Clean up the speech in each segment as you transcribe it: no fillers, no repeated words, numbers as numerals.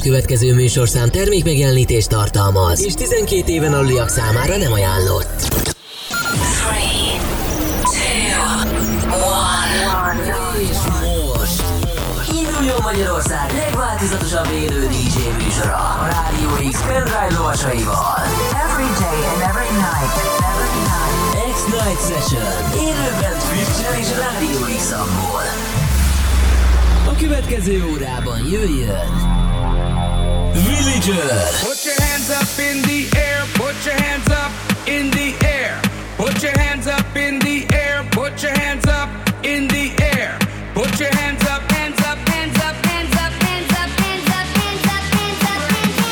következő műsorszám termékmegjelenítést tartalmaz, és 12 éven aluliak számára nem ajánlott. 3, 2, 1. És most induljon Magyarország legváltozatosabb élő DJ műsora a Rádió X pendrive lovasaival. Every day and every night. X-Night Session. Élőben Twitch-en és Rádió X-amból. A következő órában jöjjön Villager. Put your hands up in the air, put your hands up in the air. Put your hands up in the air, put your hands up in the air. Put your hands up, hands up, hands up, hands up, hands up, hands up, hands up, hands up,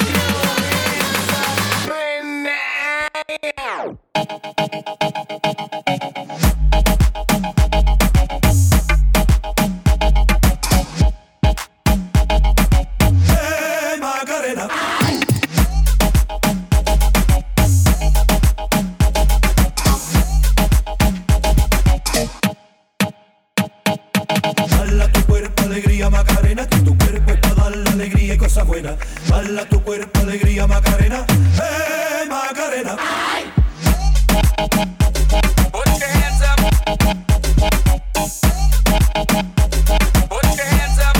Bala tu cuerpo, alegría, Macarena. Hey, Macarena. put your hands up. Put your hands up.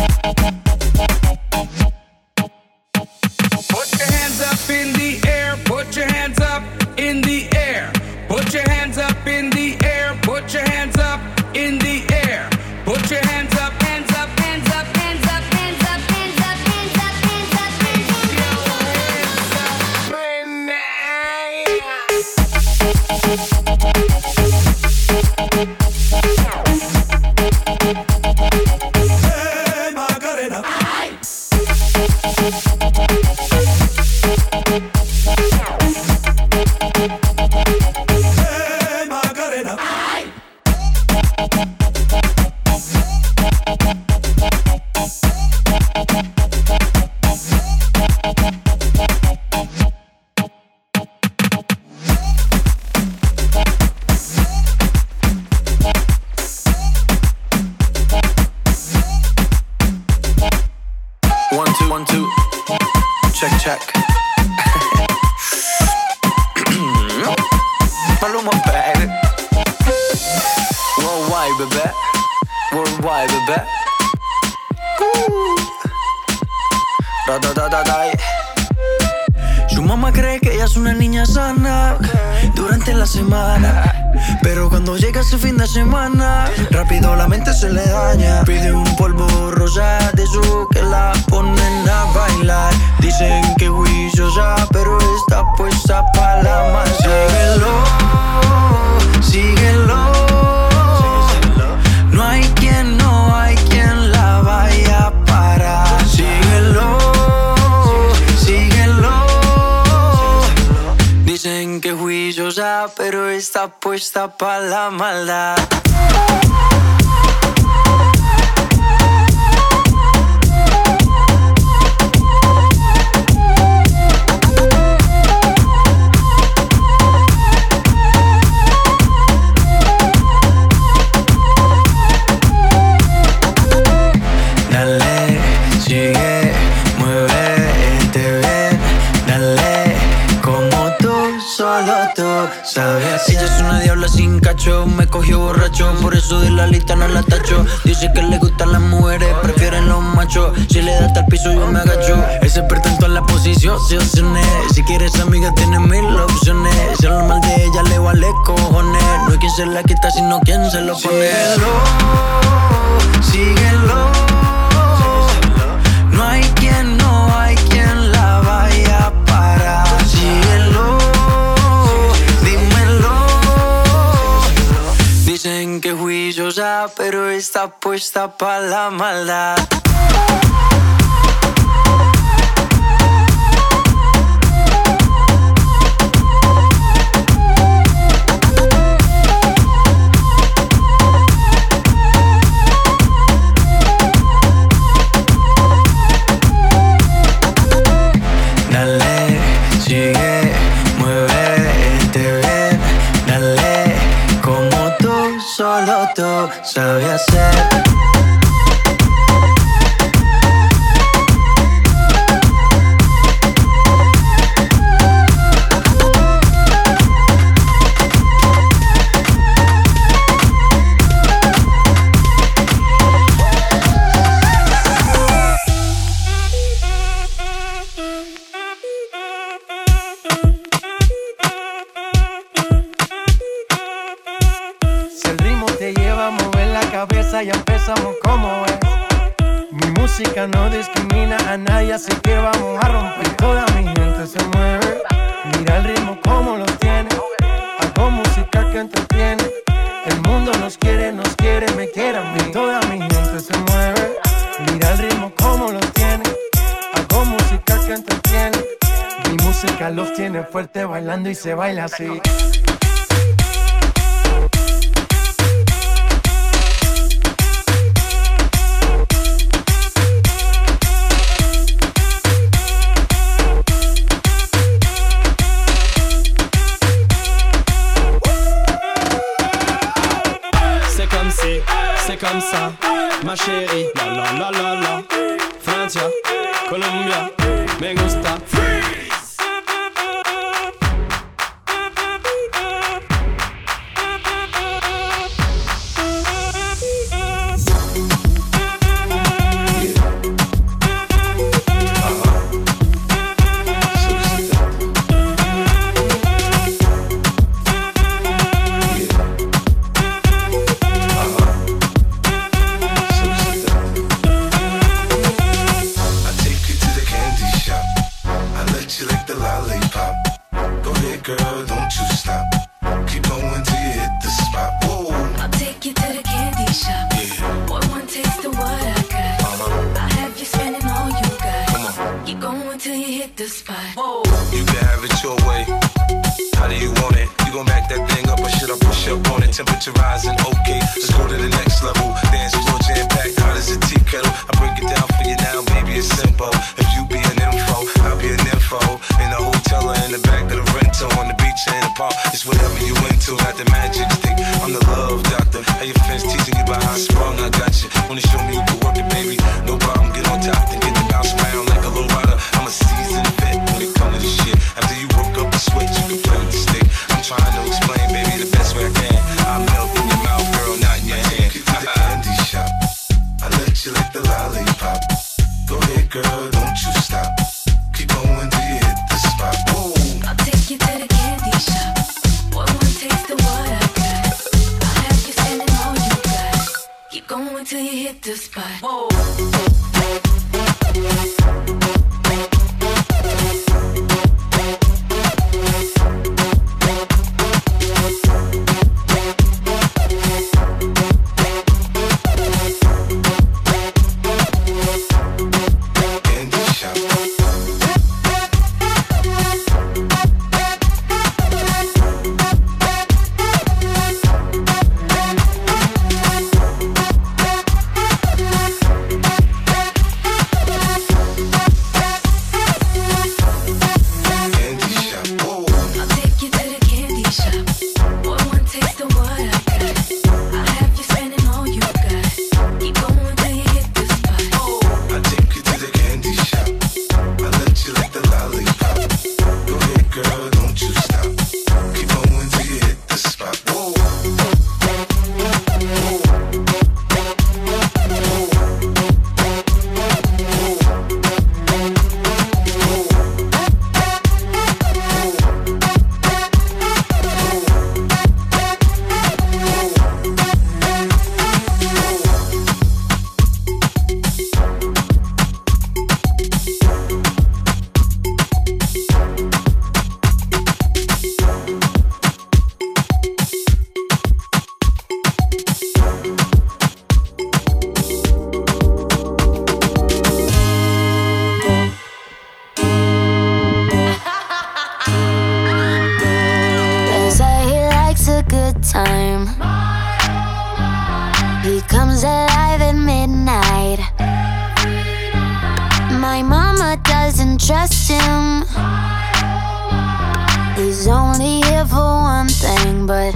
Put your hands up in the air. Put your hands up in the air. Put your hands up in the air. Put your hands up in the air. Put your hands up, hands up, hands up, hands up, hands up, hands up, hands up, hands up, Hey, Macarena. Hey, Macarena. One, two. Check. Maluma, baby. Worldwide, baby. Da. Su mamá cree que ella es una niña sana durante la semana, pero cuando llega ese fin de semana, rápido la mente se le daña. Pide un polvo rosa de esos que la ponen a bailar. Dicen que juiciosa, pero está puesta pa' la masa. Síguelo. No hay quien la vaya a parar. Síguelo. Dicen que juiciosa, pero está puesta pa' la maldad. Dale, sigue, muévete bien. Dale, como tú, solo tú sabes. Ella es una diabla sin cacho, me cogió borracho, por eso de la lista no la tacho. Dice que le gustan las mujeres, prefieren los machos. Si le da hasta el piso yo me agacho. Es experta en todas las posiciones. Si quieres amiga tiene 1000 opciones. Si habla mal de ella le vale cojones. No hay quien se la quita sino quien se lo pone. Síguelo. No hay quien la vaya a parar. Síguelo. Dímelo. Dicen que juiciosa, pero está puesta pa' la maldad. Dale, sigue, muévete bien. Dale, como tú, solo tú sabes hacer. a nadie, así que vamos a romper. Toda mi gente se mueve, mira el ritmo como lo tiene. Hago música que entretiene. El mundo nos quiere, me quiere a mí. Toda mi gente se mueve, mira el ritmo como lo tiene. Hago música que entretiene. Mi música los tiene fuerte bailando y se baila así. C'est comme ça, ma chérie. La la la la la. Francia, Colombia, me gusta. Freeze. Temperature rising, okay, let's go to the next level. Dance floor jam packed, hot as a tea kettle. I break it down for you now, baby, it's simple. If you be an info, I'll be an info. In a hotel or in the back of the rental, on the beach or in the park, it's whatever you into. Got the magic stick, I'm the love doctor. How your friends teasing you about how I sprung, I got you. Wanna show me you can work it, baby? No problem, get on top, then get the bounce around like a low rider. I'm a seasoned vet when it comes to this shit. After you work up the sweat, you can play with the stick. I'm trying to explain, baby, the best way I can. I melt in your mouth, girl, not in your hand. Take you to the candy shop. I let you lick the lollipop. Go ahead, girl, don't you stop. Keep going till you hit the spot. Whoa. I'll take you to the candy shop. Boy, one taste of what I got. I'll have you spending all you got. Keep going till you hit the spot. Whoa. time. He comes alive at midnight. My mama doesn't trust him. He's only here for one thing, but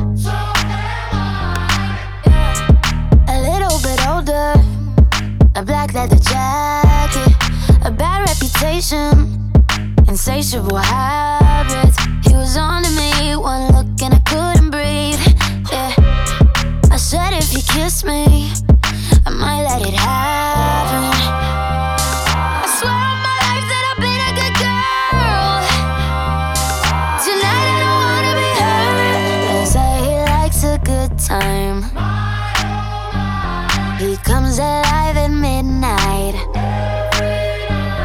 a little bit older, a black leather jacket, a bad reputation, insatiable habits. He was on to me, one look and I couldn't breathe. Yeah, I said if you kiss me, I might let it happen. I swear on my life that I've been a good girl. Tonight I don't wanna be hurt. They say he likes a good time. He comes alive at midnight.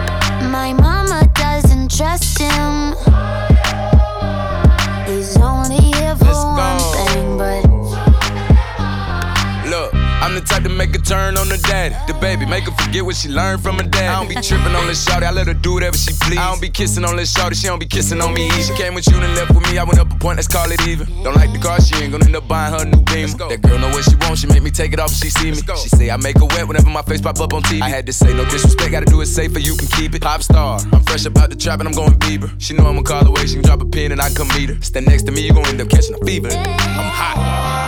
make a turn on the daddy. The baby, make her forget what she learned from her dad. I don't be tripping on this shawty, I let her do whatever she please. I don't be kissing on this shawty, she don't be kissing on me. She came with you and left with me, I went up a point, let's call it even. Don't like the car, she ain't gonna end up buying her a new Beamer. That girl know what she wants, she make me take it off if she see me. She say I make her wet whenever my face pop up on TV. I had to say no disrespect, gotta do it safer, you can keep it. Pop star, I'm fresh up out the trap and I'm going Bieber. She know I'ma call away, she can drop a pin and I can come meet her. Stand next to me, you gon' end up catching a fever. I'm hot.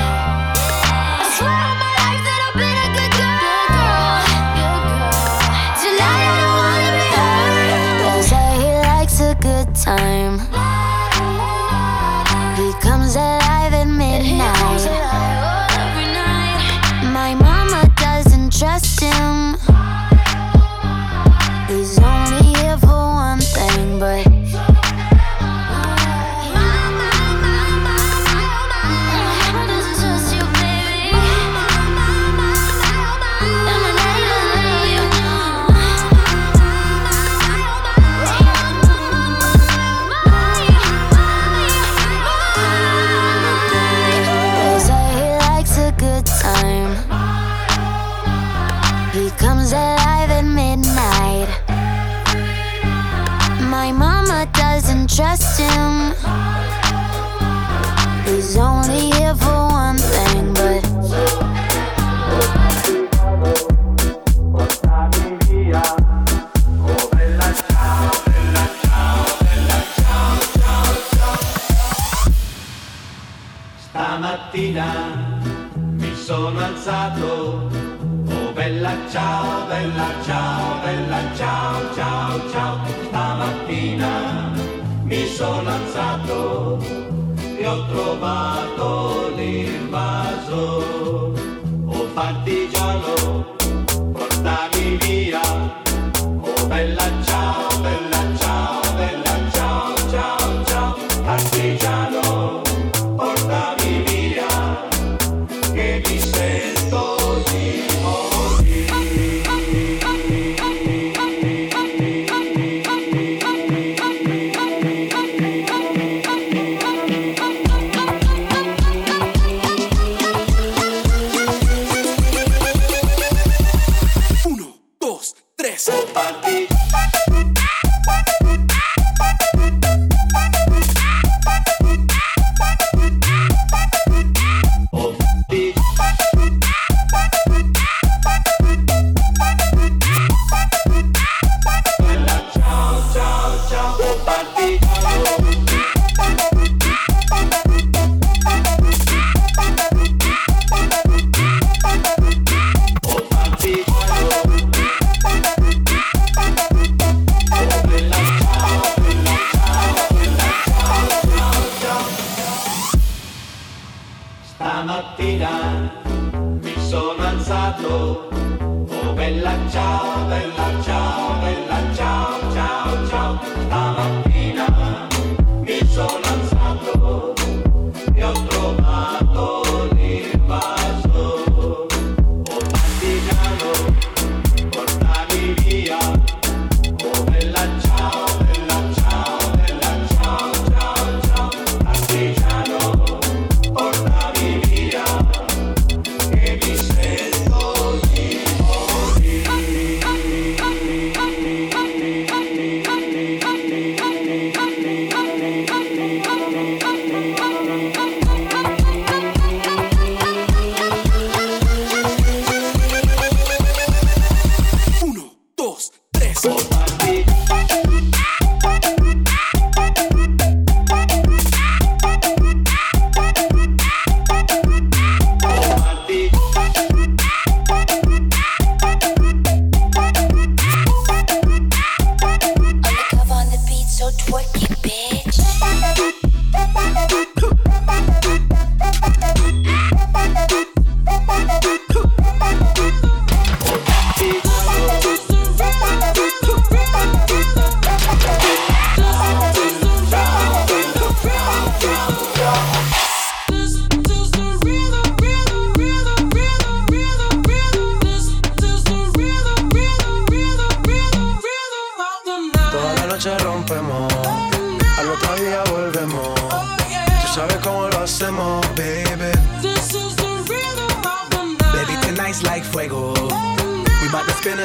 Good time. He comes alive at midnight. My mama doesn't trust him. He's only here for one thing, but comes alive at midnight. My mama doesn't trust him. He's only here for one thing, but stamattina mi sono alzato. Bella ciao, bella ciao, bella ciao, ciao, ciao. Stamattina mi sono alzato e ho trovato l'invaso. Oh partigiano, portami via. Oh bella ciao, bella ciao, bella ciao, ciao, ciao. Partigiano, portami via, che mi sento di stamattina mi sono alzato. Oh bella ciao, bella ciao, bella ciao, ciao, ciao. Stamattina mi sono alzato e ho trovato l'invaso. Oh partigiano, portami via. Oh bella ciao, bella ciao, bella ciao, ciao, ciao. Partigiano, portami via, che mi sento di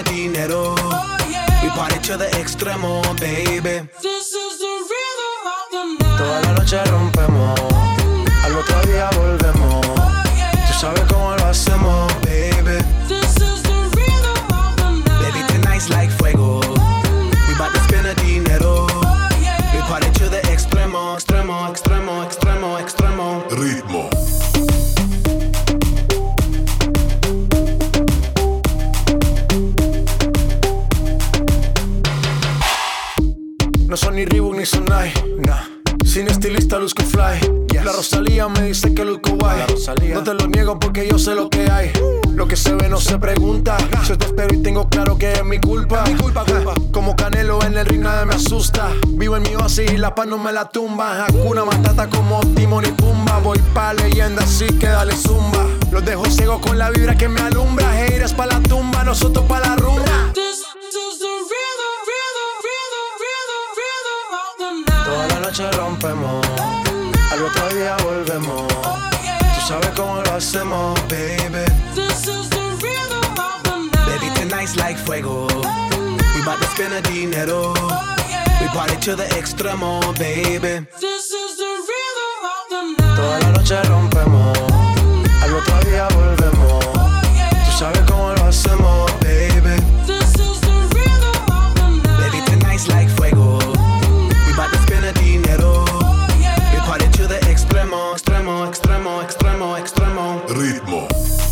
spend the dinero. We party to the extremo, baby. This is the rhythm of the night. Toda la noche rompemos, al otro día volvemos. Tú sabes cómo lo hacemos, baby. This is the rhythm of the night. Baby, tonight's like fuego. We bout to spend the dinero. We party to the extremo, extremo, extremo, extremo, extremo. Ritmo. No son ni Reebok ni Sonai, nah. Sin estilista luzco fly, yes. La Rosalía me dice que luzco guay. No te lo niego porque yo sé lo que hay. Lo que se ve no se pregunta. Yo te espero y tengo claro que es mi culpa. Culpa. Como Canelo en el ring nadie me asusta. Vivo en mi oasis y la paz no me la tumba. Hakuna Matata como Timon y Pumba. Voy pa' leyenda así que dale zumba. Los dejo ciegos con la vibra que me alumbra. Haters pa' la tumba, nosotros pa' la rumba. Toda la noche rompemos, al otro día volvemos. Tú sabes cómo lo hacemos, baby. This is the rhythm of the night. Baby, tonight's like fuego. We bout to spend the dinero. We party to the extremo, baby. This is the rhythm of the night. Toda la noche rompemos, al otro día volvemos. Tú sabes cómo lo hacemos, baby. This is the rhythm of the night. Baby, tonight's like fuego. We bout to spend the dinero. We party to the extremo, extremo, extremo, extremo, extremo. Ritmo.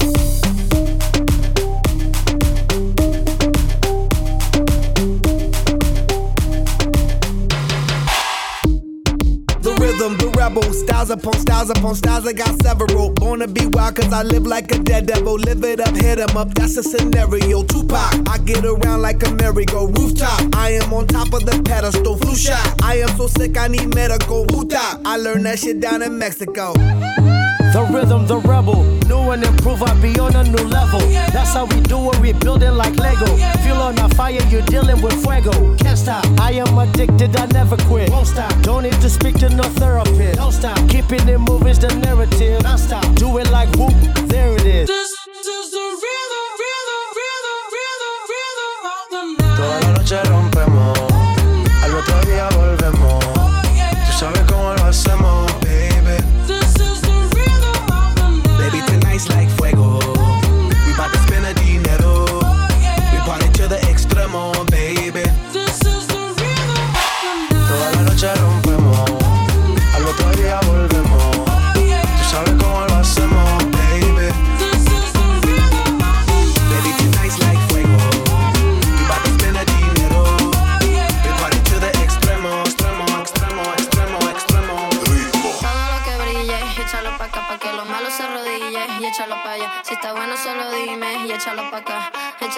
The rebel, styles upon styles upon styles, I got several. Born to be wild cause I live like a dead devil. Live it up, hit 'em up, that's a scenario. Tupac, I get around like a merry-go rooftop. I am on top of the pedestal, flu shot. I am so sick I need medical. Hootah, I learned that shit down in Mexico. The rhythm, the rebel, new and improve, I be on a new level. That's how we do it, we building like Lego. Feel on a fire, you're dealing with fuego. Can't stop, I am addicted, I never quit. Won't stop, don't need to speak to no therapist. Don't stop, keeping it moving's the narrative. Non stop, do it like whoop, there it is. This is the rhythm, rhythm, rhythm, rhythm, rhythm of the night. Toda la noche rompemos, al otro día volvemos. Tú sabes cómo lo hacemos, baby. This is the rhythm of the night. Baby, tonight's like fuego. We bout to spend the dinero. We party to the extremo, baby. This is the rhythm of the night. Toda la noche rompemos, al otro día volvemos. Tú sabes cómo lo hacemos, baby. This is the rhythm of the night. Baby, tonight's like fuego. We bout to spend the dinero. We party to the extremo, extremo, extremo, extremo, extremo. Todo lo que brille, échalo pa' acá, pa' que lo malo se arrodille y échalo pa' allá. Si está bueno solo dime y échalo pa' acá,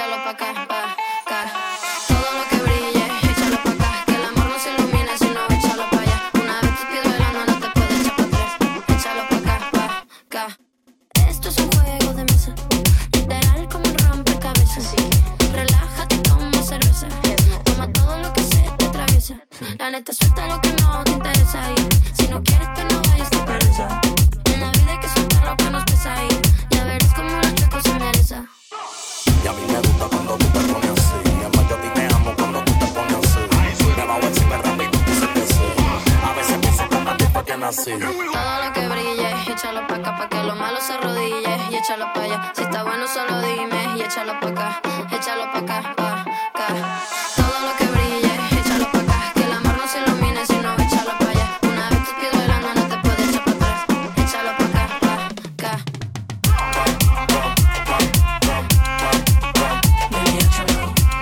pa' acá. Todo lo que brille, échalo pa' acá, que el amor no se ilumine si no échalo pa' allá. Una vez tus pies bailando no te puedes echar pa' atrás, échalo pa' acá. Esto es un juego de mesa, literal como un rompecabezas. Relájate, toma cerveza, toma todo lo que se te atraviesa. La neta suelta lo que no te interesa y si no quieres que no vayas de pereza. En la vida hay que soltar lo que nos pesa y ya verás como la chueco se endereza. Y a mí me gusta cuando tú te pones así. Además yo a ti te amo cuando tú te pones así. Me bajo encima rápido y tú dices que sí. A veces pienso que para ti fue que nací. Todo lo que brille, échalo pa' acá, pa' que lo malo se arrodille y échalo pa' allá. Si está bueno solo dime y échalo pa' acá, pa' acá. Todo lo que brille, échalo pa' acá, que el amor no se ilumine si no échalo pa' allá. Una vez tus pies bailando no te puedes echar pa' atrás, échalo pa' acá, pa' acá. Baby, échalo.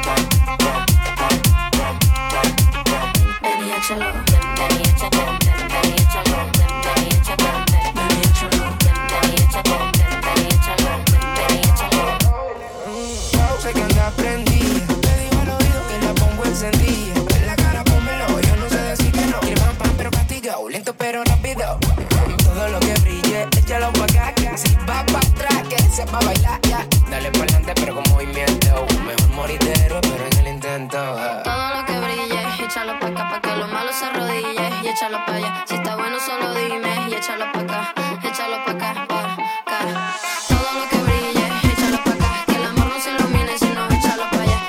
Baby, échalo. Baby, échalo. Baby, échalo. Baby, échalo. Baby, échalo. Baby, échalo. Baby, échalo. Baby, échalo. Sé que anda prendida, te digo al oído que la pongo encendida. En la cara pónmelo, yo no sé decir que no. Quiere pan pero castigado, lento pero rápido. Todo lo que brille, échalo pa' acá. Si va pa' atrás, que se va a bailar ya. Dale pa' adelante pero con movimiento. Mejor morir de héroe pero en el intento. Todo lo que brille, échalo pa' acá, pa' que lo malo se arrodille y échalo pa' allá. Si está bueno solo dime y échalo pa' acá, pa' acá. Todo lo que brille, échalo pa' acá, que el amor no se ilumine si no échalo pa' allá.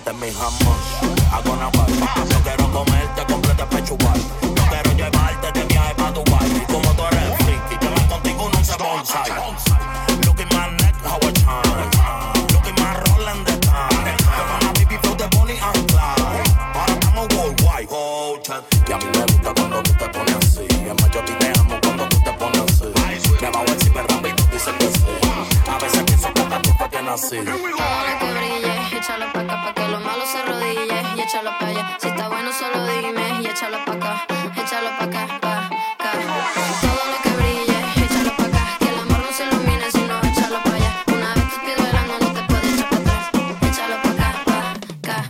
este es mi hummus. Hago una barba, no quiero comerte completa pechugar. No quiero llevarte de viaje pa' Dubai. Y como tú eres friki, te vas contigo no se bonsai. Look at my neck, how I shine. Look at my rolling the time. Con la baby flow de Bonnie and Clyde. Ahora estamos worldwide, oh, chat. Y a mí me gusta cuando tú te pones así. Es más, yo a ti te amo cuando tú te pones así. Me bajo encima rápido, dice que sí. A veces pienso que estás tú fue que nací. Ahora que brille, échalo pa' acá pa' que lo malo se arrodille. Y échalo pa' allá, si está bueno solo dime. Y échalo pa' acá, échalo pa' acá, pa' acá. Todo lo que brille, échalo pa' acá. Que el amor no se ilumine si no échalo pa' allá. Una vez tus pies bailando no te puedes echar pa' atrás. Échalo pa' acá, pa' acá.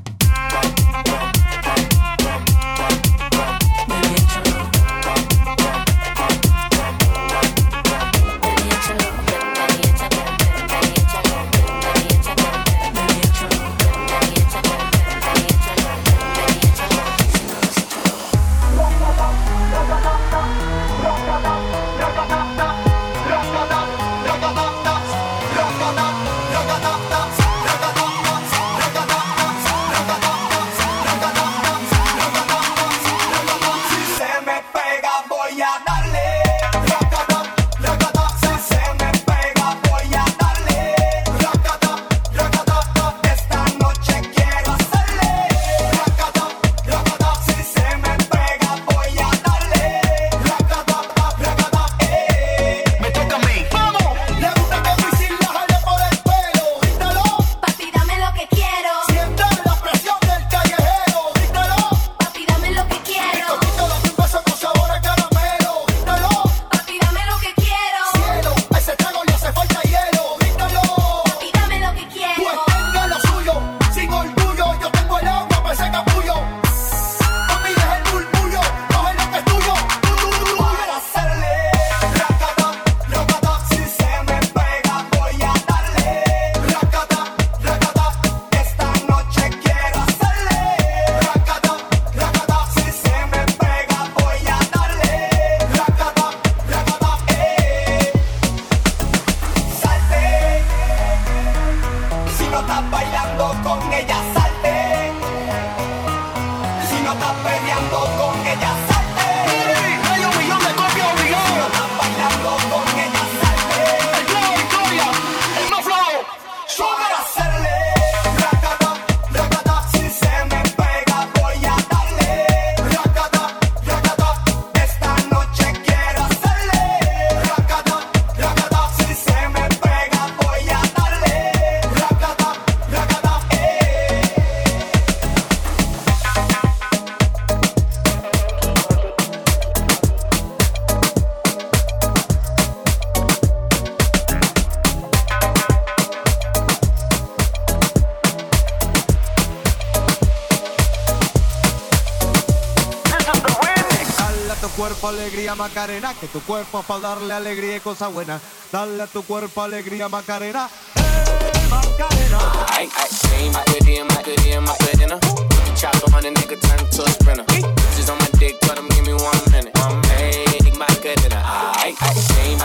Alegría Macarena, que tu cuerpo es para darle alegría y cosas buenas. Dale a tu cuerpo alegría Macarena. Macarena. Ay, ay, Macarena. Chop on a nigga, turn to a sprinter. Bitches on my dick, tell them give me 1 minute. Hey, Macarena. Ay, ay,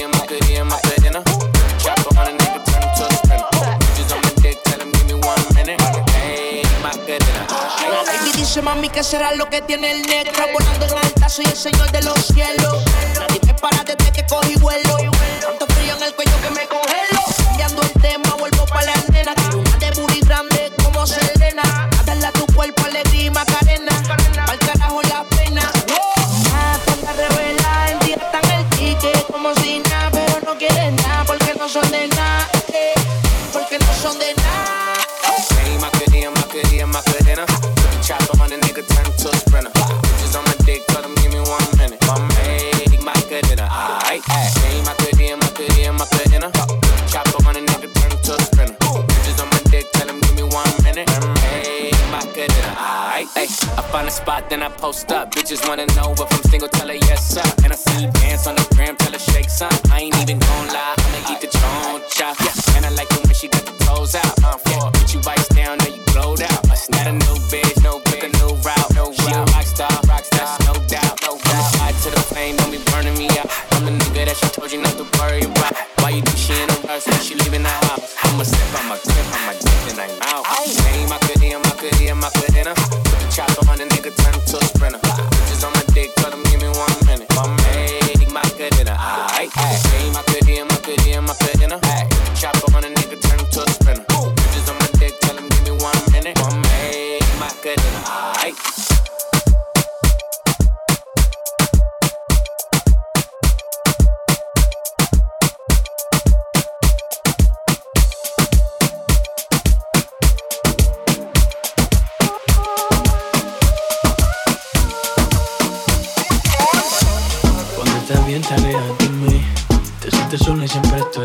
Macarena. Chop on a nigga, turn to a sprinter. Bitches on my dick, tell them give me 1 minute. Hey, Macarena. Baby dice mami que será lo que tiene el negro. Volando en alta, soy el señor de los cielos. Nadie me para desde que cogí vuelo. Tanto frío en el cuello que me congelo. Cambiando el tema, vuelvo pa' la nena. Quiero una de booty grande como Selena. A darle a tu cuerpo alegría y Macarena. Pa'l carajo la pena. Ponte revela, en día están el ticket como si nada. Pero no quieren nada porque no son de nada. Porque no son de nada. Hey, Macarena. Chop on a nigga, turn to a sprinter. Bitches on my dick, tell them give me 1 minute. Hey, Macarena. Ay, hey, Macarena. Chop on a nigga, turn to a sprinter. Bitches on my dick, tell them give me 1 minute. Hey, Macarena. Ay, hey, I find a spot, then I post up. Bitches wanna know if I'm single, tell her yes, sir. And I see you dance on the gram, tell her shake some. I ain't even gon' lie, I'ma eat the choncha. Yeah, and I like it when she got the toes out. Put you ice down, now you glowed out. Not a new bitch, no pick a new route. No she a rockstar, that's no doubt. No doubt. Side to the flame, don't be burning me out. I'm the nigga that she told you not to worry about. Why you think she in a rush when she leaving the house? I'ma sip, I'ma grip, I'ma dip, and I'm out. Hey,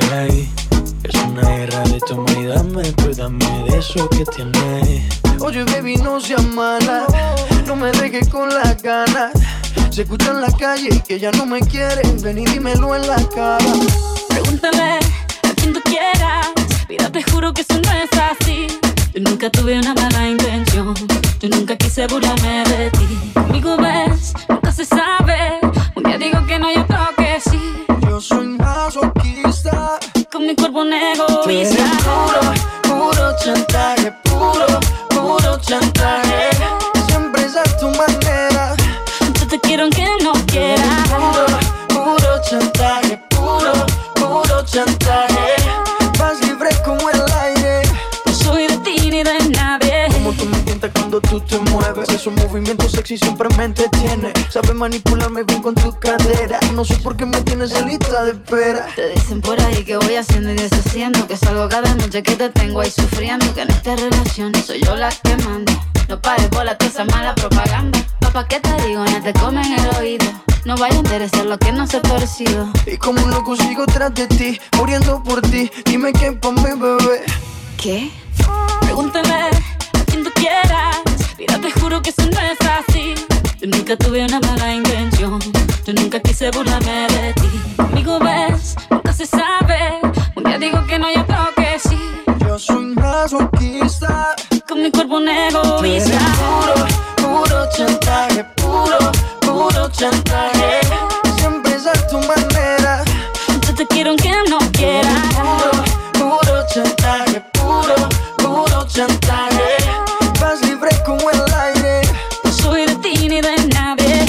ahí. Es una guerra de toma y dame, pues dame de eso que tienes. Oye, baby, no seas mala, no me dejes con las ganas. Se escucha en la calle que ya no me quieres, ven y dímelo en la cara. Pregúntale a quien tú quieras, mira, te juro que eso no es así. Yo nunca tuve una mala intención, yo nunca quise burlarme de ti. Conmigo ves, nunca se sabe, un día digo que no y otro que sí. Yo soy masoquista, con mi cuerpo un egoísta. Puro chantaje, puro chantaje. Siempre es a tu manera. Yo te quiero aunque no quieras. Puro chantaje, puro chantaje. Vas libre como el aire. No soy de ti ni de nadie. Como tú me tientas cuando tú te mueves. Esos movimientos sexy siempre me entretiene. Sabes manipularme bien con tu cadera. No sé por qué me tienes en lista de espera. Te dicen por ahí que voy haciendo y deshaciendo, que salgo cada noche que te tengo ahí sufriendo, que en esta relación soy yo la que manda. No pares bola toda esa mala propaganda. Papá, ¿qué te digo? No te comen el oído. No vaya a interesar lo que no se ha torcido. Y como un loco sigo tras de ti, muriendo por ti. Dime qué pa' mi bebé. ¿Qué? Pregúntale a quien tú quieras. Mira, te juro que eso no es así. Yo nunca tuve una mala intención, yo nunca quise burlarme de ti. Conmigo ves, nunca se sabe, un día digo que no y otro que sí. Yo soy masoquista, con mi cuerpo un egoísta. Puro chantaje, puro chantaje. Siempre es a tu manera. Yo te quiero aunque no quieras. Puro chantaje, puro chantaje. Vas libre como el aire. No soy de ti ni de nadie.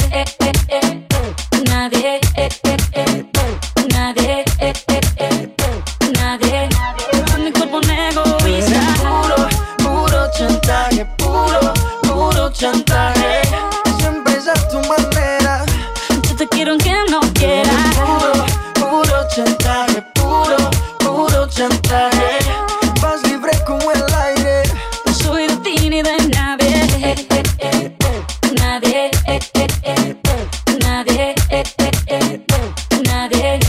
Nadie. Nadie. Nadie. Con mi cuerpo un egoísta. Puro chantaje, puro chantaje. Siempre es a tu manera. Yo te quiero aunque no quieras. Puro chantaje, puro chantaje. Vas libre como el aire. No soy de ti ni de nadie. Nadie. Nadie. Nadie.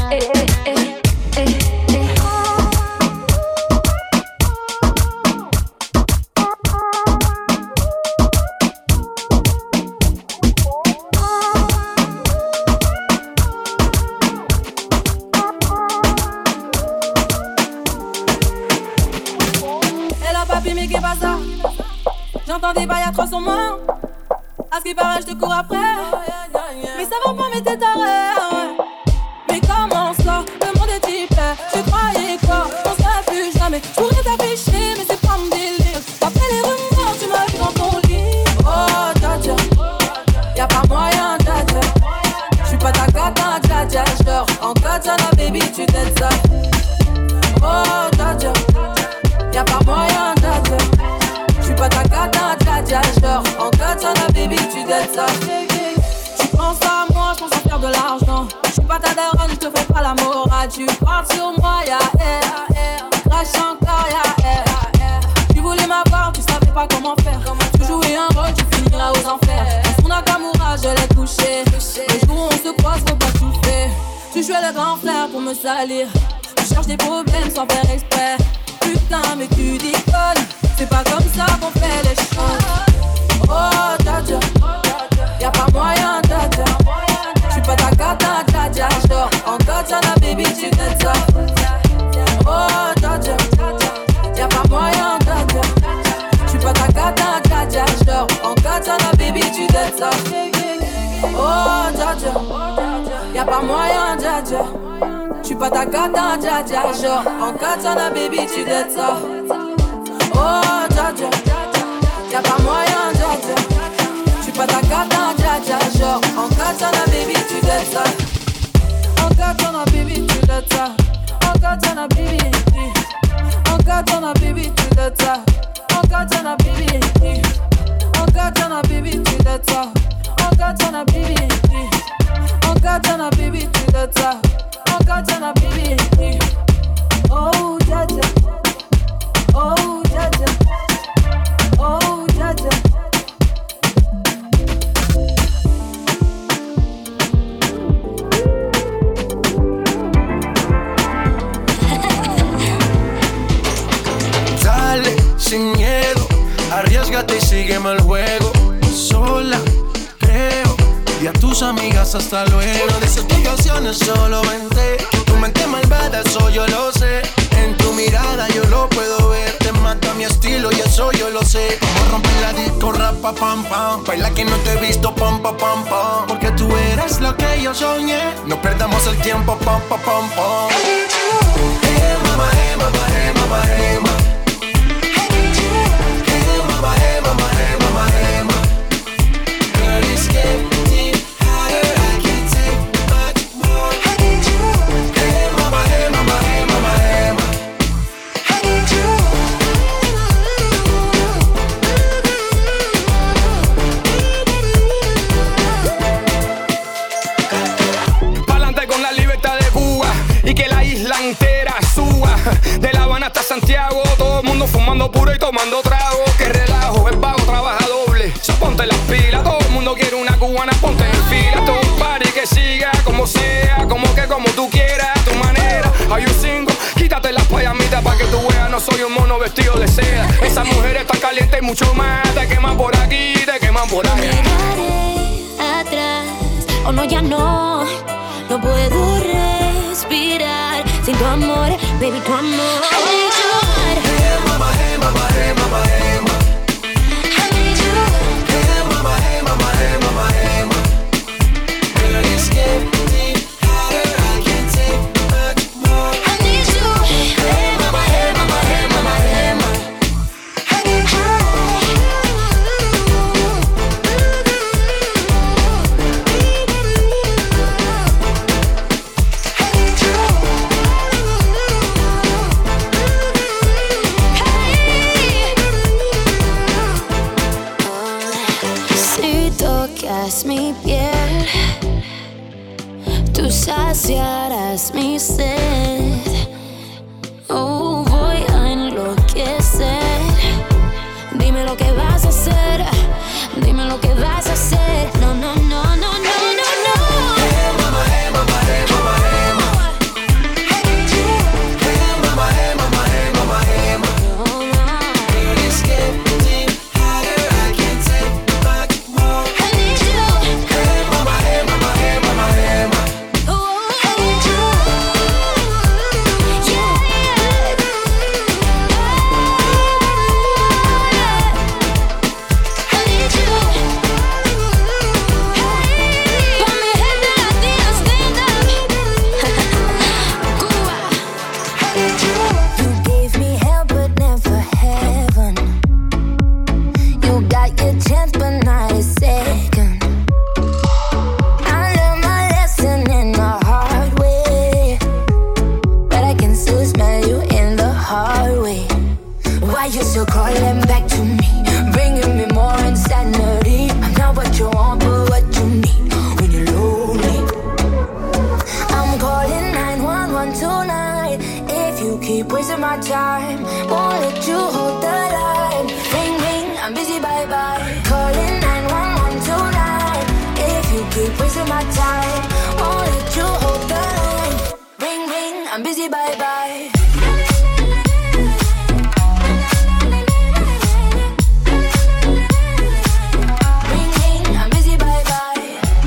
J'entends des bails à 300 mains. À ce qui paraît, je te cours après. Mais ça va pas, mais t'es taré. Mais comment ça, le monde est hyper. Tu croyais quoi, on serait plus jamais. Je pourrais t'afficher, mais c'est pas mon délire. Après les rumeurs, tu m'as vu dans ton lit. Oh, dja y'a pas moyen, dja j'suis pas ta cata, dja j'dors en katana, baby, tu t'aides ça. Oh, dja y'a pas moyen, dja j'suis pas ta cata, dja j'dors en katana, baby, tu t'aides ça. Tu penses à moi, j'pense à faire de l'argent. J'suis pas ta daronne, j'te fais pas la morale. Tu parles sur moi, y'a air. Crash encore, y'a air. Tu voulais m'avoir, tu savais pas comment faire. Tu jouais un rôle, tu finiras aux enfers. Dans son Nakamura, je l'ai couché. Les jours où on se croise, faut pas tout faire. Tu jouais le grand frère pour me salir. Tu cherches des problèmes sans faire exprès. Putain, mais tu déconnes. C'est pas comme ça qu'on fait les choses. Oh, dja y'a pas moyen, dja j'suis pas ta cata, dja j'dors en katana, baby, tu t'aides ça. Oh, dja y'a pas moyen, dja j'suis pas ta cata, dja j'dors en katana, baby, tu t'aides ça. Oh, dja y'a pas moyen, dja j'suis pas ta cata, dja j'dors en katana, baby, tu t'aides ça. Oh, dja y'a pas moyen, dja j'suis pas ta cata, dja genre en katana, baby, tu t'aides ça. En katana, baby, tu t'aides ça. En katana, baby. En katana, baby, tu t'aides ça. En katana, baby. En katana, baby, tu t'aides ça. En katana, baby. En katana, baby, tu t'aides ça. En katana, baby. Oh, dja oh, dja oh, dja Olvídate y sígueme el juego. Sola, creo. Y a tus amigas hasta luego. Una de esas explicaciones solo vente. Tu mente malvada, eso yo lo sé. En tu mirada yo lo puedo ver. Te mata mi estilo y eso yo lo sé. Como romper la disco, rapa, pam, pam. Baila que no te he visto, pam, pam, pam, pam. Porque tú eres lo que yo soñé. No perdamos el tiempo, pam, pam, pam, pam. Hey, mama, hey, mama, hey, mama, hey, mama. Hey, mama, hey, mama, hey, mama, hey, mama. Girl, it's getting hotter, I can't take much more. Hey, mama, hey, mama, hey, mama, hey, mama. Pa'lante con la libertad de Cuba y que la isla entera suba. De La Habana hasta Santiago, todo el mundo fumando puro y tomando trago. Que relajo, el vago trabaja doble. So ponte las pilas, todo el mundo quiere una cubana, ponte en fila. Todo un party que siga como sea, como tú quieras, a tu manera. Hay un single, quítate las payamitas pa' que tú veas, no soy un mono vestido de seda. Esas mujeres están calientes y mucho más, te queman por aquí, te queman por allá. Miraré atrás, oh no, ya no puedo respirar sin tu amor, baby, tu amor. I need you. Hey, mama, hey, mama, hey, mama, hey, mama. I need you. Hey, mama, hey, mama, hey, mama, hey, mama. Girl, it's getting hotter, I can't take much more. I need you. Hey, mama, hey, mama, hey, mama, hey, mama. I need you. Si tocas mi piel, tú saciarás mi sed. Oh, voy a enloquecer. Dime lo que vas a hacer. Dime lo que vas a hacer. No, no, no, no, no, no, no. Hey, mama, hey, mama, hey, mama, hey, mama. Hey, mama, hey, mama, hey, mama, hey, mama. Girl, it's getting hotter, I can't take much more. I need you. Hey, mama, hey, mama, hey, mama, hey, mama. I need you. Yeah, yeah. I need you. Hey, pa' mi gente latina, stand up. Cuba. You gave me hell but never heaven. You got your chance but not a second. I learned my lesson in the hard way, but I can still smell you in the hard way. Why you still calling back to me, bringing me more insanity? I'm not what you want, but what you need when you're lonely. I'm calling 911 tonight. If you keep wasting my time, won't let you hold the line. Ring, ring, I'm busy, bye bye. Calling 911 tonight. If you keep wasting my time, won't let you hold the line. Ring, ring, I'm busy, bye bye. Ring, ring, I'm busy, bye bye.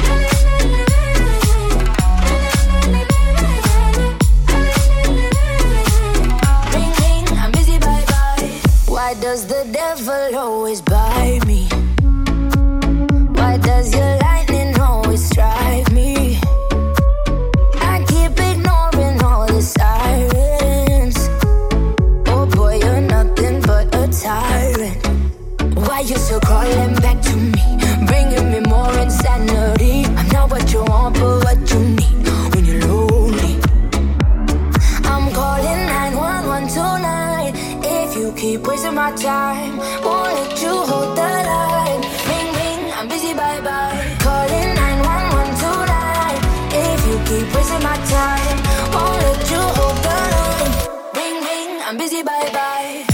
Ring, ring, I'm busy, bye bye. Why does the devil always buy me? Why does your lightning always strike me? I keep ignoring all the sirens. Oh boy, you're nothing but a tyrant. Why you still calling back to me, bringing me more insanity? I'm not what you want, but what you need when you're lonely. I'm calling 911 tonight. If you keep wasting my time, won't let you hold the line. Ring, ring, I'm busy, bye bye. Calling 911 tonight. If you keep wasting my time, won't let you hold the line. Ring, ring, I'm busy, bye bye.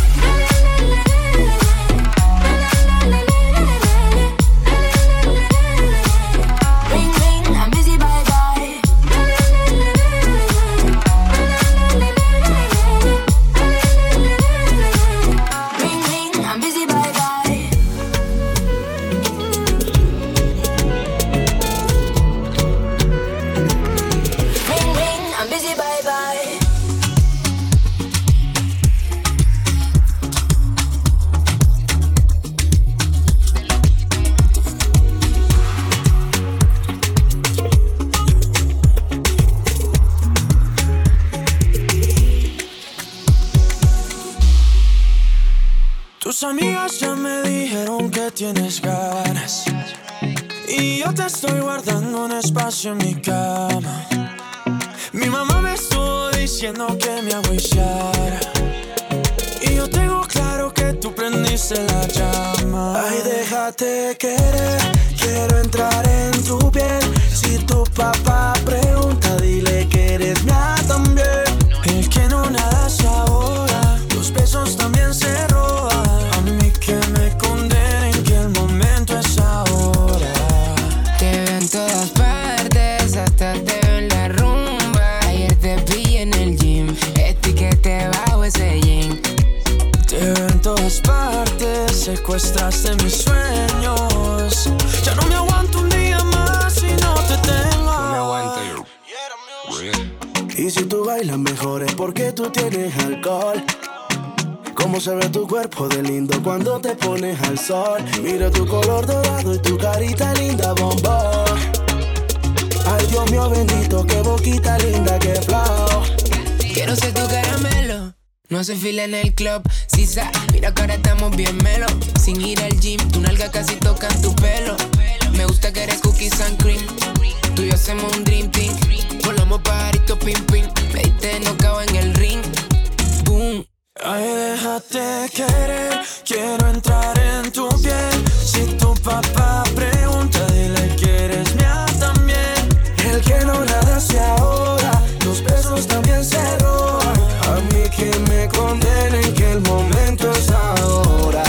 Ring, ring, I'm busy, bye bye. Ring, ring, I'm busy, bye bye. Tus amigas ya me dijeron que tienes ganas y yo te estoy guardando un espacio en mi cama. Mi mamá me estuvo diciendo que me agüillara y yo tengo claro que tú prendiste la llama. Ay, déjate querer, quiero entrar en tu piel. Si tu papá pregunta, dile que eres mía también. El que no nada se ahoga, los besos también se roban. A mí que me condenen, que el momento es ahora. Te veo en todas partes, hasta te veo en la rumba. Ayer te pillé en el gym, etiquete bajo ese jean. Te veo en todas partes, secuestraste mis sueños. Ya no me aguanto un día más si no te tengo. No me aguanto yo. Y si tú bailas mejor es porque tú tienes alcohol. Cómo se ve tu cuerpo de lindo cuando te pones al sol. Mira tu color dorado y tu carita linda, bombón. Ay, Dios mío bendito, qué boquita linda, qué flow. Quiero ser tu caramelo, no hace fila en el club. Sisa, mira que ahora estamos bien melo. Sin ir al gym, tu nalga casi tocan tu pelo. Me gusta que eres cookies and cream. Tú y yo hacemos un dream team. Volamos pajarito pim pim. Me diste nocao en el ring. Boom. Ay, déjate querer, quiero entrar en tu piel. Si tu papá pregunta, dile que eres mía también. El que no nada se ahoga, los besos también se roban. A mí que me condenen, que el momento es ahora.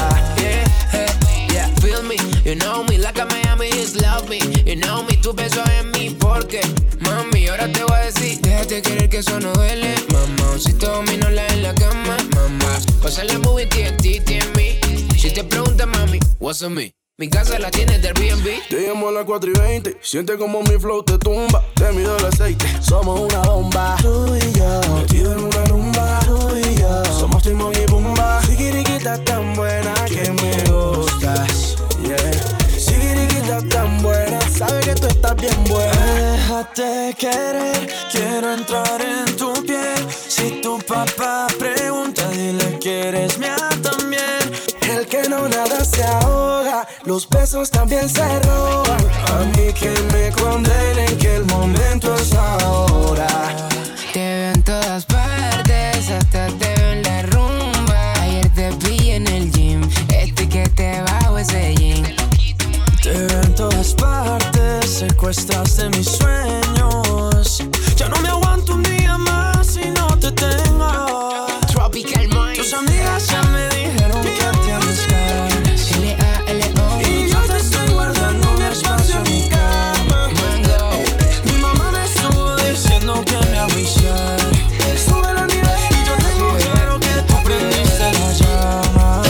Yeah, feel me, you know me, like a Miami just love me. You know me, tu beso en mí, porque mami, ahora te voy a decir, déjate querer que eso no duele. Mamá, si te domino la en la cama, mamá, pasa la movie TNT en mí. Si te preguntas, mami, what's on me? Mi casa la tienes del B&B. Te llamo a las 4:20, siente como mi flow te tumba. Te mido el aceite, somos una bomba. Tú y yo, metido en una rumba. Tú y yo, somos Timón y Pumba. Sigiriquita tan buena que me gustas, yeah. Sigiriquita tan buena, sabe que tú estás bien buena. Déjate querer, quiero entrar en tu piel. Si tu papá pregunta, dile que eres mía también. El que no nada se ahoga, los besos también se roban. A mí que me condenen, que el momento es ahora. Te veo en todas partes, hasta te veo en la rumba. Ayer te pillé en el gym, etiquete bajo ese jean. Te veo en todas partes, secuestraste mis sueños. Ya no me aguanto un día más si no te tengo. Tropical Mind. Tus amigas ya me dijeron que tienes ganas. L-A-L-O. Y yo te estoy guardando un espacio en mi cama. Mango. Mi mamá me estuvo diciendo que me agüillara. Sube la nivel y yo tengo claro que tú prendiste la llama.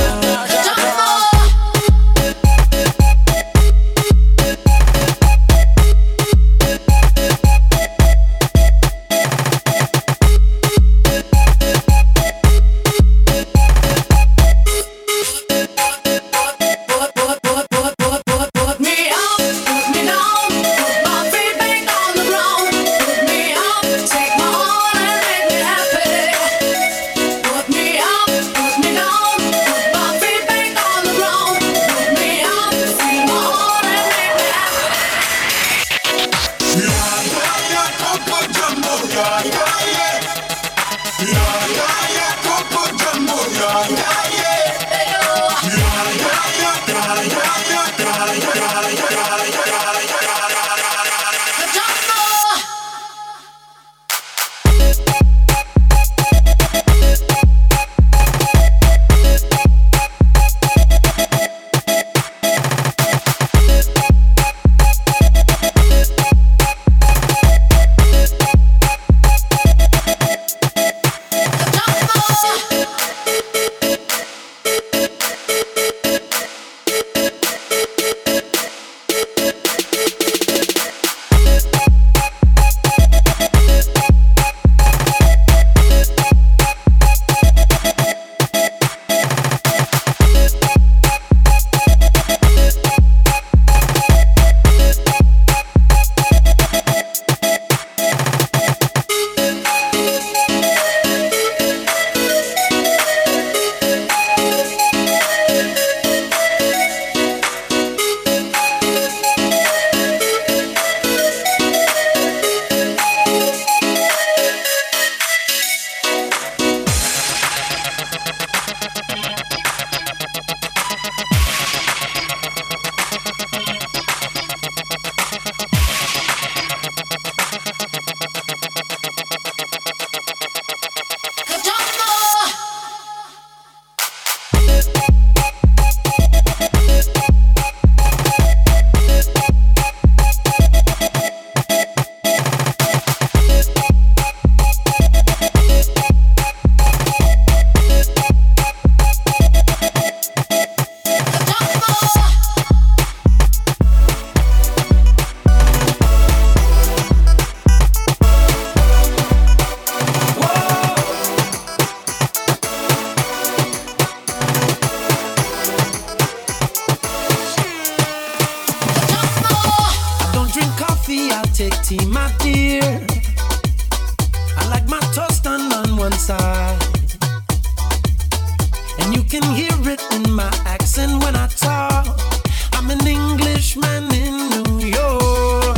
can hear it in my accent when I talk. I'm an Englishman in New York.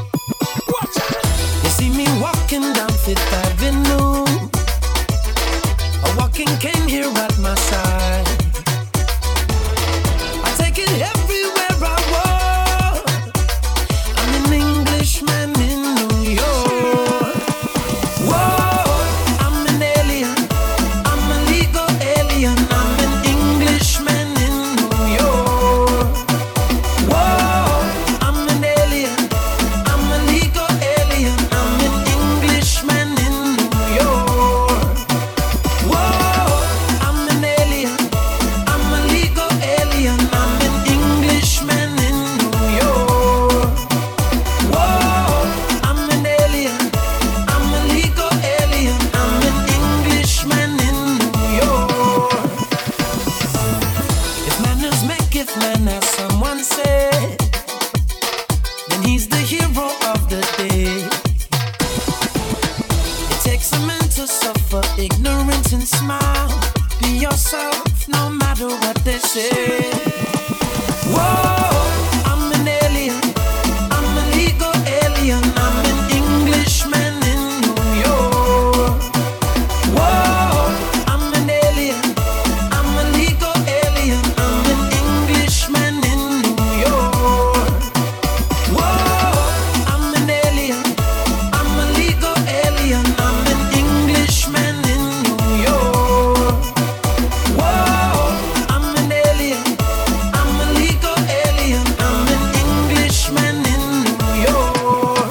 You see me walking down Fifth Avenue, a walking cane here at my side. I take it everywhere I walk. I'm an Englishman in New York. Whoa, I'm an alien. I'm a legal alien. I'm an Englishman in New York. Whoa, I'm an alien. I'm a legal alien. I'm an Englishman in New York. Whoa, I'm an alien. I'm a legal alien. I'm an Englishman in New York. Whoa, I'm an alien. I'm a legal alien. I'm an Englishman in New York. If manners maketh man, as someone said, then he's the hero of the day. It takes a man to suffer ignorance and smile. Be yourself, no matter what they say. Whoa, I'm an alien. I'm a legal alien. I'm an Englishman in New York. Whoa, I'm an alien. I'm a legal alien. I'm an Englishman in New York. Whoa, I'm an alien. I'm a legal alien. I'm an Englishman in New York. Whoa, I'm an alien. I'm a legal alien. I'm an Englishman in New York.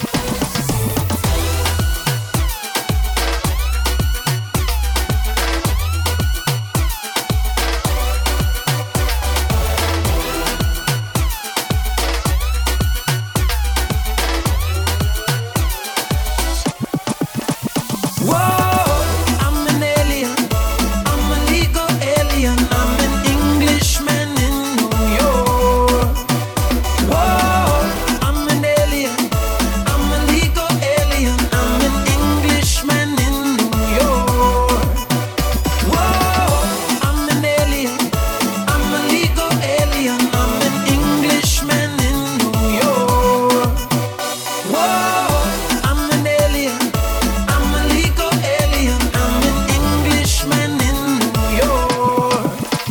Whoa, I'm an alien. I'm a legal alien. I'm an Englishman in New York. Whoa, I'm an alien. I'm a legal alien. I'm an Englishman in New York. Whoa, I'm an alien. I'm a legal alien. I'm an Englishman in New York. Whoa, I'm an alien. I'm a legal alien. I'm an Englishman in New York.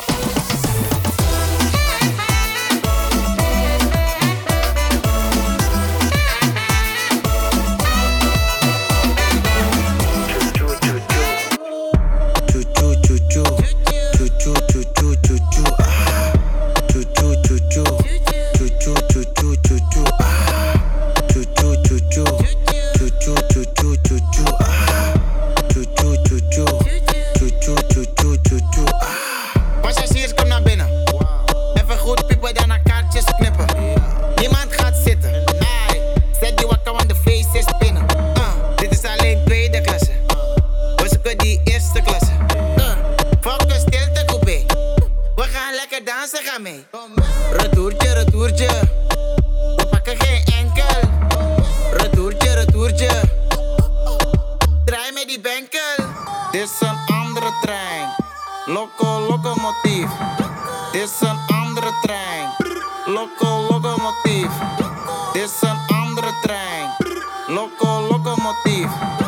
Passagiers, kom naar binnen. Even goed piepen, dan naar kaartjes knippen. Niemand gaat zitten. Ai, zet die wakker, want de feest is binnen. Dit is alleen tweede klasse. We zoeken die eerste klasse. Fuck een stilte coupé. We gaan lekker dansen, ga mee. Retourtje, retourtje. We pakken geen enkel. Retourtje, retourtje. Draai met die benkel. Dit is een andere trein. Locomotief. Dit is een andere trein. Locomotief. Dit is een andere trein. Locomotief.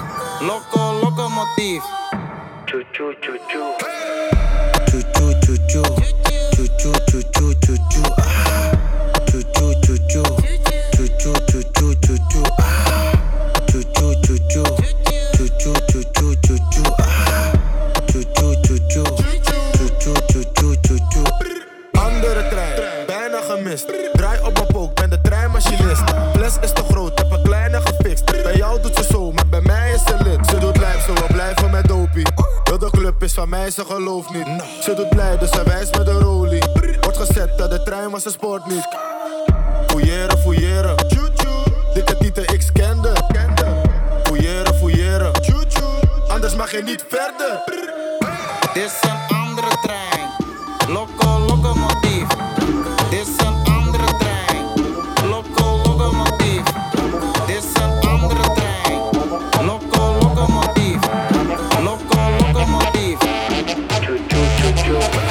Locomotief. Choo choo choo choo. Choo choo choo choo. Choo choo choo choo choo choo. Choo choo choo choo. Choo choo choo choo choo choo. Choo choo choo choo. Choo choo choo choo choo choo. Choo choo choo choo. Choo choo choo choo choo. Andere trein, bijna gemist. Draai op mijn pook, ben de treinmachinist. Fles is te groot, heb een kleine gefixt. Bij jou doet ze zo, maar bij mij is ze lid. Ze doet lijf, zo we blijven met dopie. Heel de club is van mij, ze gelooft niet. Ze doet blij, dus ze wijst met de rolie. Wordt gezet, dat de trein was, ze sport niet. Fouilleren, fouilleren. Dikke tieten, ik scande. Fouilleren, fouilleren. Anders mag je niet verder. Dit is een andere trein. Locomotief. Dit is een andere trein. Locomotief. Dit is een andere trein. Locomotief. Locomotief. Choo choo choo choo.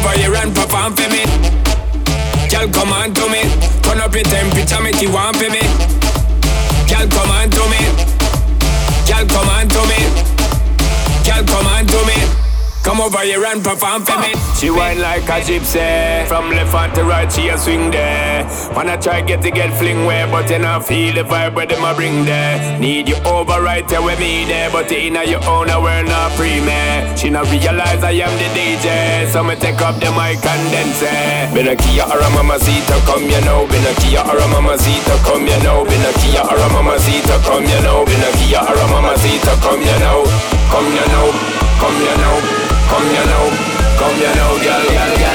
over here and perform for me. Girl, come on to me. Turn up your temperature, make you want for me. Girl, come on to me. Girl, come on to me. Girl, come on to me. Come over here and perform for me. She whine like a gypsy. From left hand to right, she a swing there. Wanna try get fling way, but you not feel the vibe where them a bring there. Need you over right there with me there, but you inna your own, we're not pre-me. She not realize I am the DJ, so me take up the mic and then say, been a Kia or a Mamacita, come you know. Been a Kia or a Mamacita, come you know. Been a Kia or a Mamacita, come you know. Been a Kia or a Mamacita, come you know. Come you know, come you know. Come you know, girl.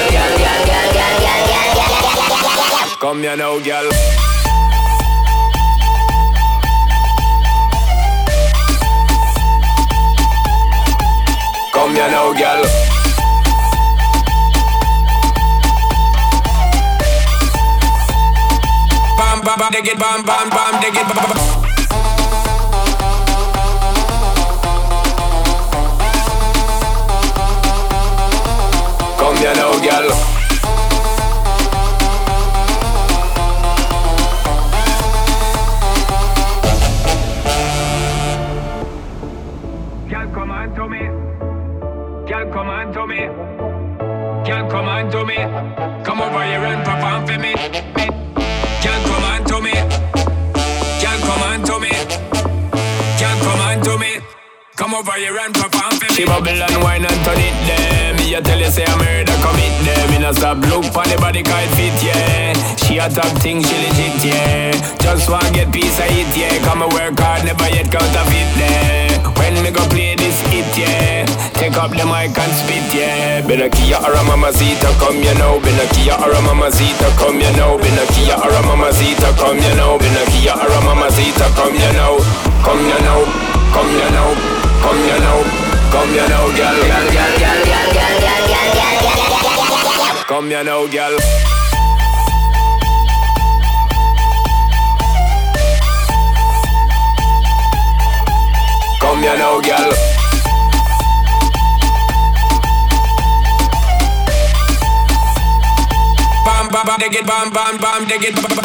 Come you know, girl. Come you know, girl. Bam bam bam, dig it, bam bam bam, dig it, bam bam. Come you know, girl. Girl, come on to me. Girl, come on to me. Girl, come on to me. Come over here and perform for me. Girl, come on to me. Girl, come on to me. Girl, come on to me. Come over here and perform for me. She bubble and wine and turn it there. Me a tell you say I murder commit there. Me not stop look for the body can't fit, yeah. She a top thing, she legit, yeah. Just wanna get piece of it, yeah. Come and work hard, never yet counterfeit there. When me go play this hit, yeah. Take up the mic and spit, yeah. Been a Kia or a Mamacita, come you know. Been a Kia or a Mamacita, come you know. Been a Kia or a Mamacita, come you know. Been a Kia or a Mamacita, come you know. Come you know, come you know. Come you know, come you know, girl. Come you know, girl. Come you know, girl. Bam bam bam, dig it, bam bam bam, dig it, bam bam.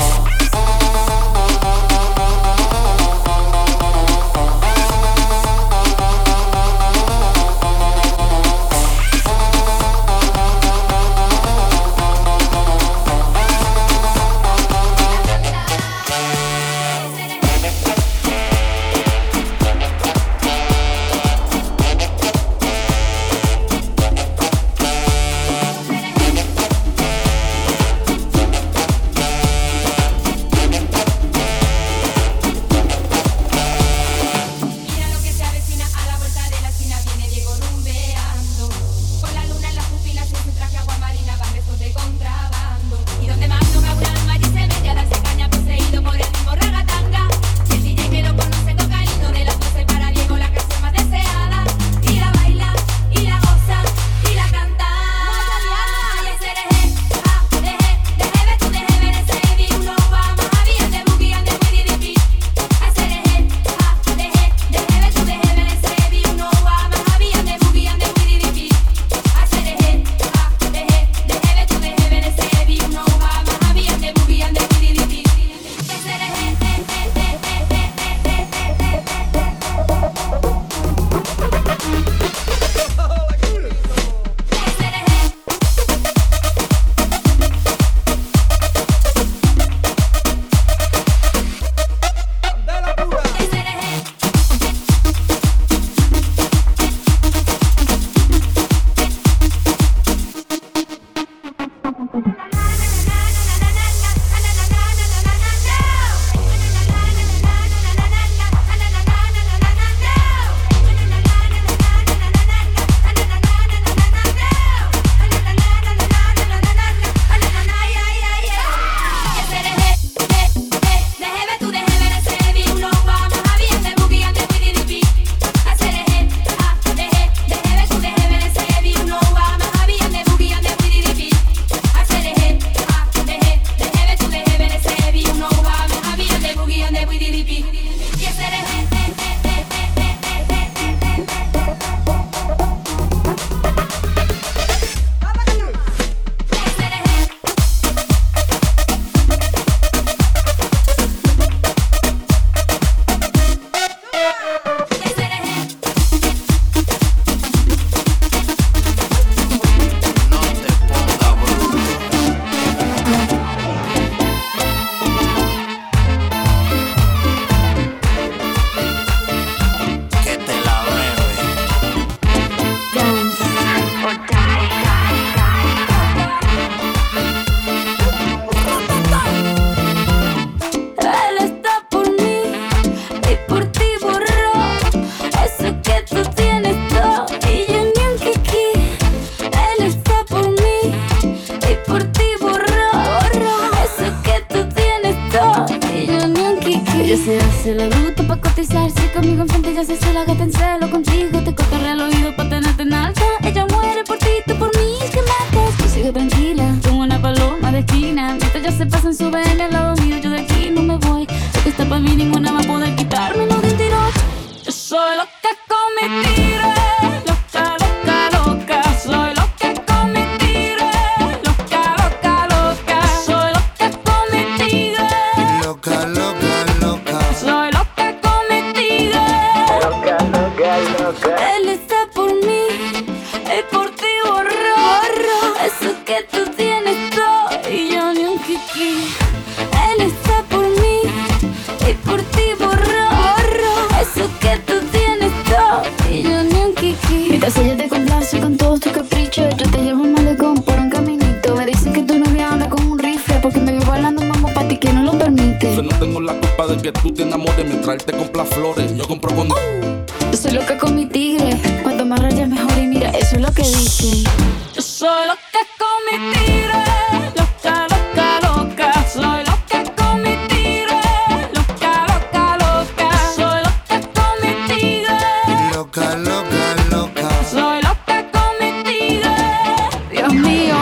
ella se sola, que te encelo contigo. Te cotorrea al oído pa' tenerte en alta. Ella muere por ti, tú por mí, que matas. Tú sigue tranquila, como una paloma de esquina. Mientras ella se pasa en su BM al lado mío, yo de aquí no me voy. Lo que está pa' mí, ninguna va a poder quitármelo de un tirote. Yo soy loca con mi tigre. Loca, loca, loca. Soy loca con mi tigre. Loca, loca, loca. Soy loca con mi tigre. Loca, loca, loca. Soy loca con mi tigre. Loca, loca, loca. Él está por mí y por ti borró eso que tú tienes todo y yo ni un kiki. Él está por mí y por ti borró eso que tú tienes todo y yo ni un kiki. Mientras ella te complace con todos tus caprichos, yo te llevo un malecón por un caminito. Me dicen que tu novia anda con un rifle porque me vivo hablando mamá pa' ti que no lo permite. Yo no tengo la culpa de que tú te enamores mientras él te compra flores. Yo compro con... Yo soy loca con mi tigre, cuanto más rayas mejor y mira, eso es lo que dicen. Yo soy loca con mi tigre, loca, loca, loca. Soy loca con mi tigre, loca, loca, loca. Soy loca con mi tigre, Loca, loca, loca. soy loca con mi tigre. Dios mío.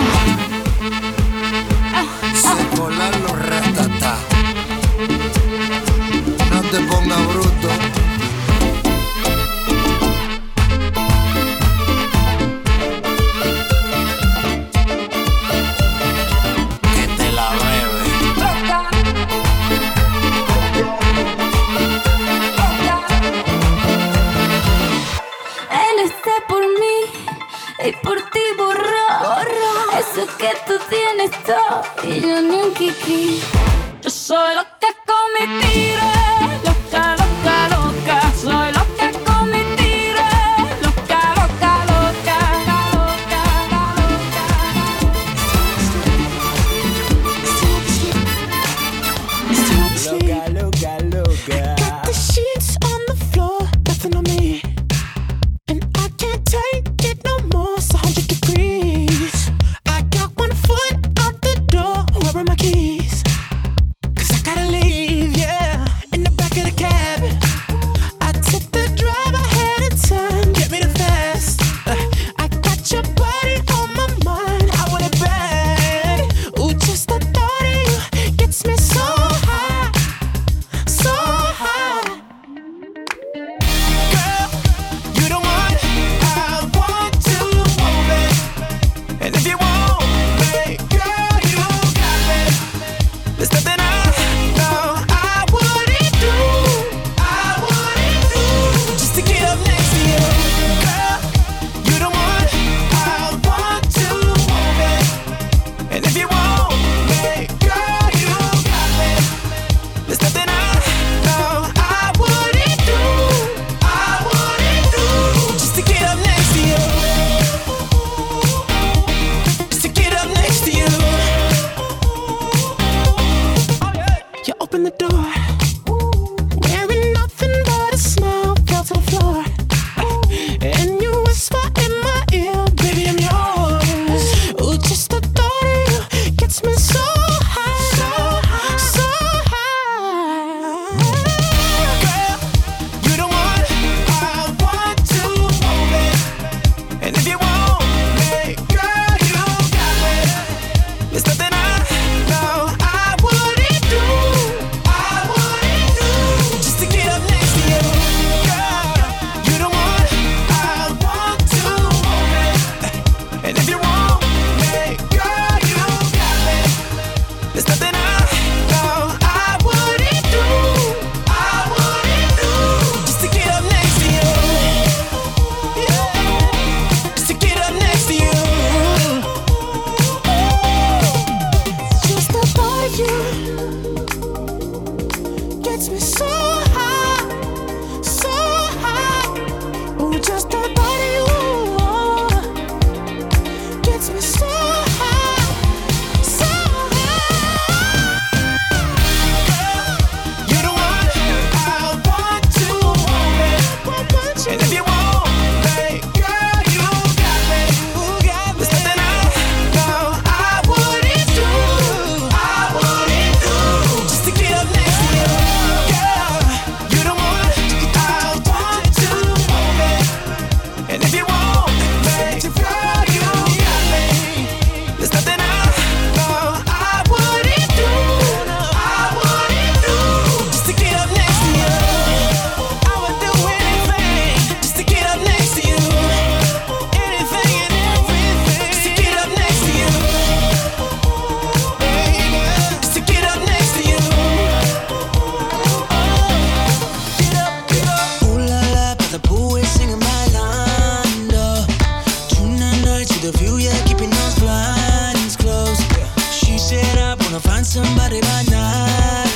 Se colan los ratatá. No te pongas bruto. Que te la bebe. Él está por mí y por ti borró eso que tú tienes todo y yo ni un kiki. Yo soy loca con mi tigre, loca, loca, loca. Soy loca con mi tigre, loca, loca, loca, Loca, loca, loca. Got the sheets on the floor, nothing on me. And I can't take it no more, it's 100 degrees. I got 1 foot out the door, where are my keys? 'Cause I gotta leave, yeah. And always singing bailando. Tonight to the view, yeah, keeping those blinds closed. She said I wanna find somebody by night.